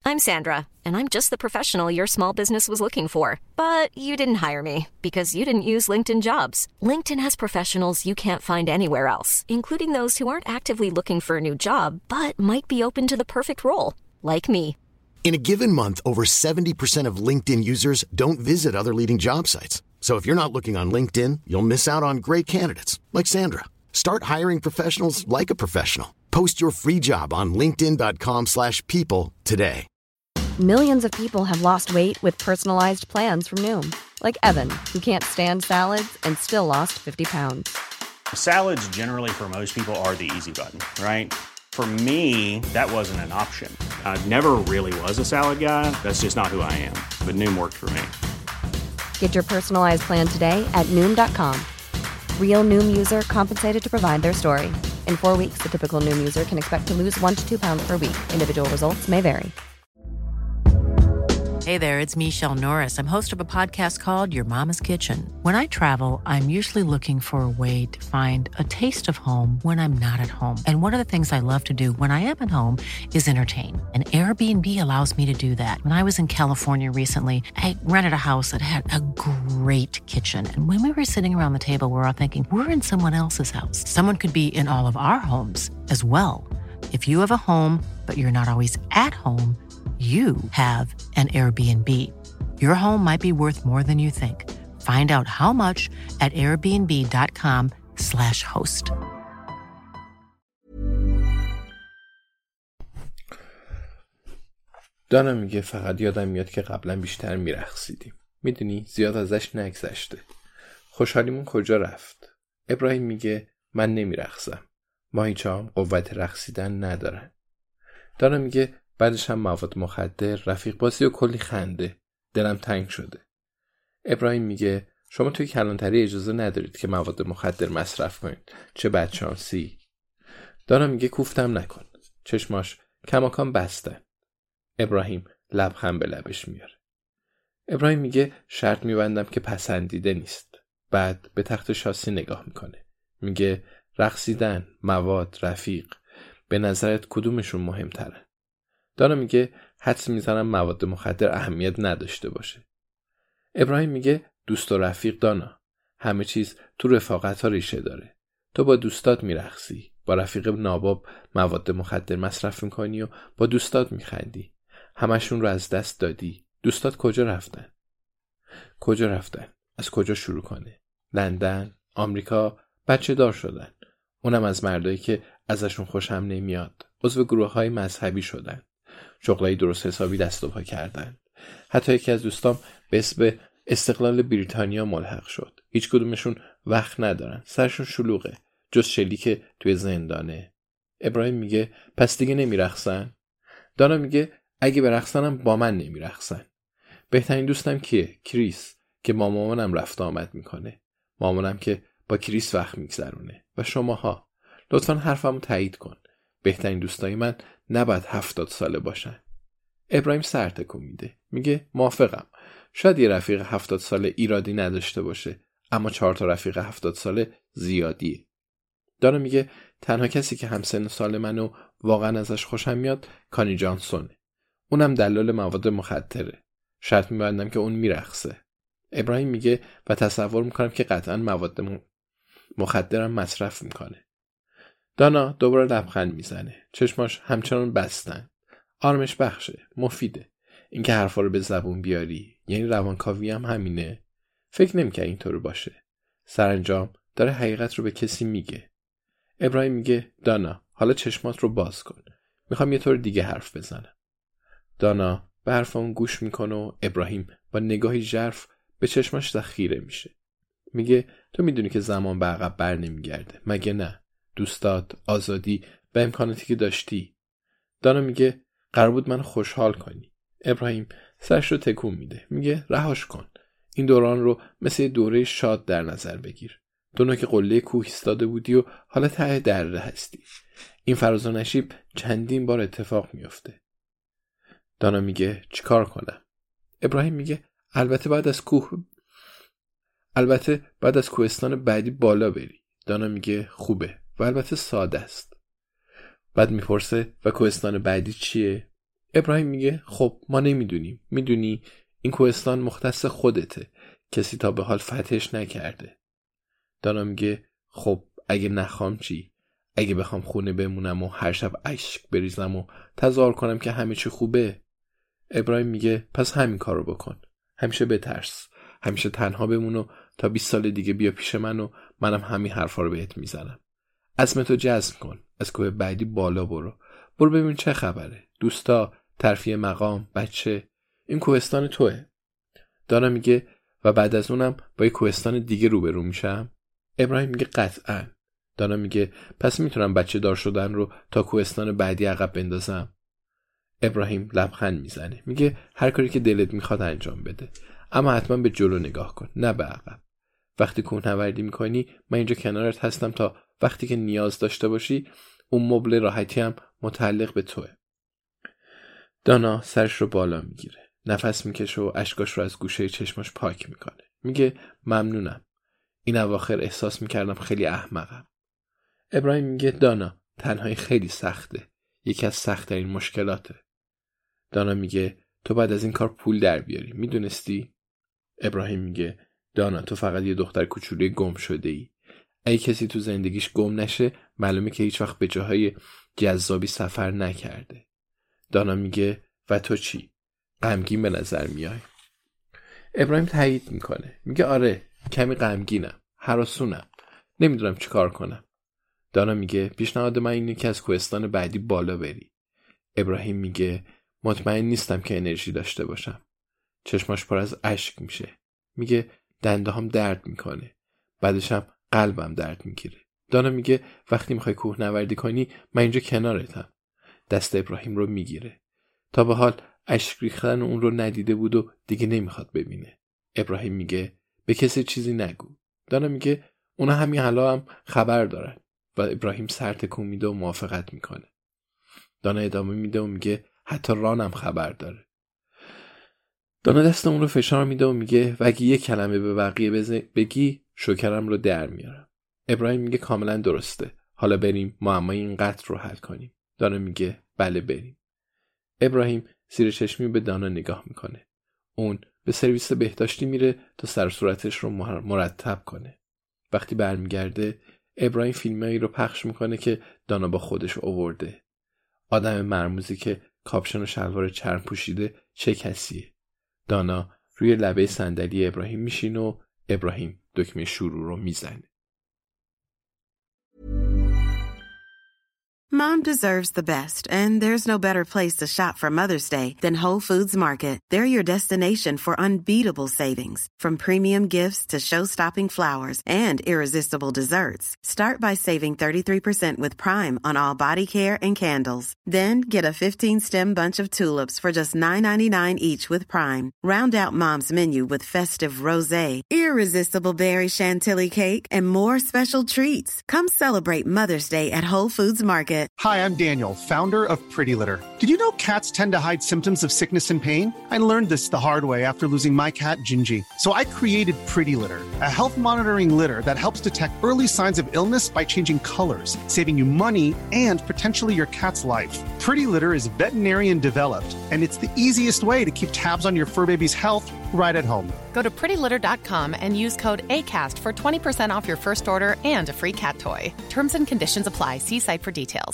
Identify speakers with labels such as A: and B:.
A: I'm Sandra, and I'm just the professional your small business was looking for. But you didn't hire me because you didn't use LinkedIn Jobs. LinkedIn has professionals you can't find anywhere else, including those who aren't actively looking for a new job, but might be open to the perfect role, like me.
B: In a given month, over 70% of LinkedIn users don't visit other leading job sites. So if you're not looking on LinkedIn, you'll miss out on great candidates like Sandra. Start hiring professionals like a professional. Post your free job on linkedin.com/people today.
C: Millions of people have lost weight with personalized plans from Noom. Like Evan, who can't stand salads and still lost 50 pounds.
D: Salads generally for most people are the easy button, right? For me, that wasn't an option. I never really was a salad guy. That's just not who I am. But Noom worked for me.
C: Get your personalized plan today at Noom.com. Real Noom user compensated to provide their story. In 4 weeks, the typical Noom user can expect to lose 1 to 2 pounds per week. Individual results may vary.
E: Hey there, it's Michelle Norris. I'm host of a podcast called Your Mama's Kitchen. When I travel, I'm usually looking for a way to find a taste of home when I'm not at home. And one of the things I love to do when I am at home is entertain. And Airbnb allows me to do that. When I was in California recently, I rented a house that had a great kitchen. And when we were sitting around the table, we were all thinking, we're in someone else's house. Someone could be in all of our homes as well. If you have a home, but you're not always at home, you have an Airbnb. Your home might be worth more than you think. Find out how much at airbnb.com/host.
F: دانا میگه فقط یادم میاد که قبلا بیشتر میرقصیدیم. میدونی زیاد ازش نگذشته. خوشحالیمون کجا رفت؟ ابراهیم میگه من نمیرقصم. ماهیچه‌هام قوت رقصیدن ندارن. دانا میگه بعدش هم مواد مخدر، رفیق بازی و کلی خنده. دلم تنگ شده. ابراهیم میگه شما توی کلانتری اجازه ندارید که مواد مخدر مصرف کنید. چه بدشانسی. دانا میگه کوفتم نکن. چشماش کماکان بستن. ابراهیم لبخند به لبش میاره. ابراهیم میگه شرط میبندم که پسندیده نیست. بعد به تخت شاسی نگاه میکنه. میگه رقصیدن، مواد، رفیق. به نظرت کدومشون مهمتره؟ دانا میگه حدس میزنم مواد مخدر اهمیت نداشته باشه. ابراهیم میگه دوست و رفیق دانا. همه چیز تو رفاقت ها ریشه داره. تو با دوستات میرقصی. با رفیق ناباب مواد مخدر مصرف میکنی و با دوستات میخندی. همشون رو از دست دادی. دوستات کجا رفتن؟ کجا رفتن؟ از کجا شروع کنه؟ لندن؟ آمریکا؟ بچه دار شدن. اونم از مردایی که ازشون خوشم نمیاد. عضو گروه‌های مذهبی شدن. شغلای درست حسابی دست و پا کردن. حتی یکی از دوستام به اسم استقلال بریتانیا ملحق شد. هیچ کدومشون وقت ندارن. سرشون شلوغه. جز شلیک توی زندانه. ابراهیم میگه پس دیگه نمیرقصن؟ دانا میگه اگه برقصنم با من نمیرقصن. بهترین دوستم کیه؟ کریس که با مامانم رفت آمد میکنه. مامانم که با کریس وقت میگذرونه. و شماها لطفاً حرفمو تایید کن. بهترین دوستای من نباید 70 ساله باشن. ابراهیم سر تکون میده. میگه موافقم. شاید یه رفیق 70 ساله ایرادی نداشته باشه، اما 4 تا رفیق 70 ساله زیادیه. دانا میگه تنها کسی که همسن سال منو واقعا ازش خوشم میاد کانی جانسونه. اونم دلال مواد مخدره. شرط میبندم که اون میرقصه. ابراهیم میگه و تصور میکنم که قطعا مواد مخدرم مصرف میکنه. دانا دوباره لبخند میزنه. چشماش همچنان بستن. آرامش بخشه. مفیده. اینکه حرفا رو به زبون بیاری. یعنی روانکاوی هم همینه. فکر نمی‌کنم اینطور باشه. سرانجام داره حقیقت رو به کسی میگه. ابراهیم میگه دانا حالا چشمات رو باز کن. میخوام یه طور دیگه حرف بزنم. دانا به حرف اون گوش میکنه و ابراهیم با نگاهی ژرف به چشماش خیره میشه. میگه تو میدونی که زمان به عقب بر نمیگرده. مگه نه؟ دوستات، آزادی و امکاناتی که داشتی. دانا میگه قرار بود منو خوشحال کنی. ابراهیم سرش رو تکون میده. میگه رهاش کن. این دوران رو مثل دوره شاد در نظر بگیر. تو نوک قله کوه ایستاده بودی و حالا ته دره هستی. این فراز و نشیب چندین بار اتفاق میفته. دانا میگه چیکار کنم؟ ابراهیم میگه البته بعد از کوهستان بعدی بالا بری. دانا میگه خوبه و البته ساده است. بعد میپرسه و کوهستان بعدی چیه؟ ابراهیم میگه خب ما نمیدونیم. میدونی این کوهستان مختص خودته. کسی تا به حال فتحش نکرده. دانا میگه خب اگه نخوام چی؟ اگه بخوام خونه بمونم و هر شب اشک بریزم و تظاهر کنم که همه چی خوبه؟ ابراهیم میگه پس همین کارو بکن. همیشه بترس. همیشه تنها بمون و تا 20 سال دیگه بیا پیش من و منم همین حرفا رو بهت میزنم. عزمتو جزم کن. از کوه بعدی بالا برو ببین چه خبره. دوستا، ترفیع مقام، بچه، این کوهستان توئه. دانا میگه و بعد از اونم با یه کوهستان دیگه روبرو میشم؟ ابراهیم میگه قطعاً. دانا میگه پس میتونم بچه دار شدن رو تا کوهستان بعدی عقب بندازم؟ ابراهیم لبخند میزنه. میگه هر کاری که دلت میخواد انجام بده، اما حتما به جلو نگاه کن، نه به عقب. وقتی کوهنوردی میکنی من اینجا کنارت هستم تا وقتی که نیاز داشته باشی. اون مبل راحتی هم متعلق به توئه. دانا سرش رو بالا میگیره، نفس میکشه و اشکاش رو از گوشه چشماش پاک میکنه. میگه ممنونم. این اواخر احساس میکردم خیلی احمقم. ابراهیم میگه دانا تنهایی خیلی سخته. یکی از سخت‌ترین مشکلاته. دانا میگه تو بعد از این کار پول در بیاری. میدونستی؟ ابراهیم میگه دانا تو فقط یه دختر کوچولوی گم شده ای. اگه کسی تو زندگیش گم نشه معلومه که هیچ وقت به جاهای جذابی سفر نکرده. دانا میگه و تو چی؟ غمگین به نظر میای. ابراهیم تایید میکنه. میگه آره کمی غمگینم، هراسونم، نمیدونم چی کار کنم. دانا میگه پیشنهاد من اینه که از کوهستان بعدی بالا بری. ابراهیم میگه مطمئن نیستم که انرژی داشته باشم. چشماش پر از اشک میشه. میگه دنده هم درد میکنه. بعدش هم قلبم درد میگیره. دانا میگه وقتی میخوای کوهنوردی کنی من اینجا کنارتم. دست ابراهیم رو میگیره. تا به حال اشک ریختن اون رو ندیده بود و دیگه نمیخواد ببینه. ابراهیم میگه به کسی چیزی نگو. دانا میگه اونا همین حالا هم خبر دارن و ابراهیم سر تکون میده و موافقت میکنه. دانا ادامه میده و میگه حتی رانم خبر داره. دانا دست اون رو فشار میده و میگه و اگه یه کلمه به بقیه بگی شوکرم رو در میارم. ابراهیم میگه کاملا درسته. حالا بریم معمای این قتل رو حل کنیم. دانا میگه بله بریم. ابراهیم زیر چشمی به دانا نگاه میکنه. اون به سرویس بهداشتی میره تا سر و صورتش رو مرتب کنه. وقتی برمیگرده ابراهیم فیلمایی رو پخش میکنه که دانا با خودش آورده. آدم مرموزی که کاپشن و شلوار چرم پوشیده چه کسیه؟ دانا روی لبه صندلی ابراهیم میشینه و ابراهیم دکمه شروع رو میزنه.
G: Mom deserves the best, and there's no better place to shop for Mother's Day than Whole Foods Market. They're your destination for unbeatable savings, from premium gifts to show-stopping flowers and irresistible desserts. Start by saving 33% with Prime on all body care and candles. Then get a 15-stem bunch of tulips for just $9.99 each with Prime. Round out Mom's menu with festive rosé, irresistible berry chantilly cake, and more special treats. Come celebrate Mother's Day at Whole Foods Market.
H: Hi, I'm Daniel, founder of Pretty Litter. Did you know cats tend to hide symptoms of sickness and pain? I learned this the hard way after losing my cat, Gingy. So I created Pretty Litter, a health monitoring litter that helps detect early signs of illness by changing colors, saving you money and potentially your cat's life. Pretty Litter is veterinarian developed, and it's the easiest way to keep tabs on your fur baby's health right at home.
I: Go to prettylitter.com and use code ACAST for 20% off your first order and a free cat toy. Terms and conditions apply. See site for details.